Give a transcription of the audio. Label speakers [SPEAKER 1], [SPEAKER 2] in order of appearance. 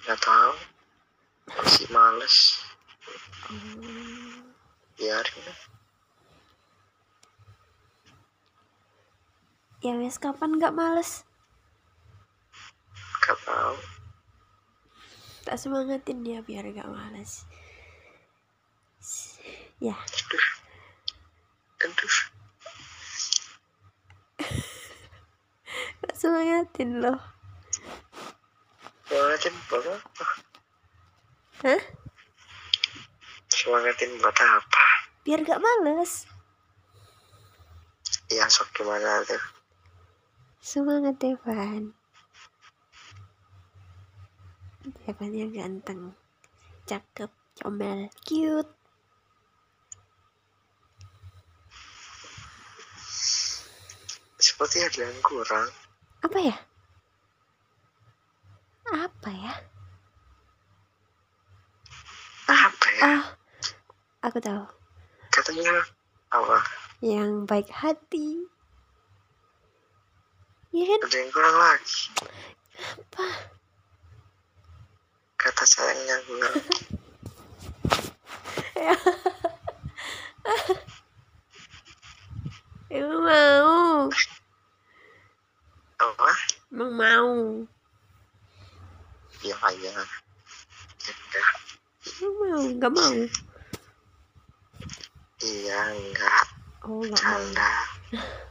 [SPEAKER 1] Nggak tahu, masih males. Biarin.
[SPEAKER 2] Ya wes, kapan nggak males?
[SPEAKER 1] Nggak tahu.
[SPEAKER 2] Tak semangatin dia biar nggak males. Ya.
[SPEAKER 1] Aduh.
[SPEAKER 2] Tak semangatin loh.
[SPEAKER 1] Semangatin buat apa?
[SPEAKER 2] Hah?
[SPEAKER 1] Semangatin buat apa?
[SPEAKER 2] Biar gak males.
[SPEAKER 1] Ya sok gimana tuh?
[SPEAKER 2] Semangat Devan. Devannya ganteng, cakep, comel, cute.
[SPEAKER 1] Seperti ada yang kurang.
[SPEAKER 2] Apa ya? Apa ya?
[SPEAKER 1] Apa ya?
[SPEAKER 2] Oh, aku tahu.
[SPEAKER 1] Katanya apa?
[SPEAKER 2] Yang baik hati. Iya kan?
[SPEAKER 1] Ada yang kurang lagi.
[SPEAKER 2] Apa?
[SPEAKER 1] Kata sayangnya kurang.
[SPEAKER 2] Emang mau.
[SPEAKER 1] Apa?
[SPEAKER 2] Emang mau.
[SPEAKER 1] Ya aja. Ya enggak.
[SPEAKER 2] Emang mau, gak mau.
[SPEAKER 1] Iya enggak.
[SPEAKER 2] Oh, gak
[SPEAKER 1] Canda.
[SPEAKER 2] mau.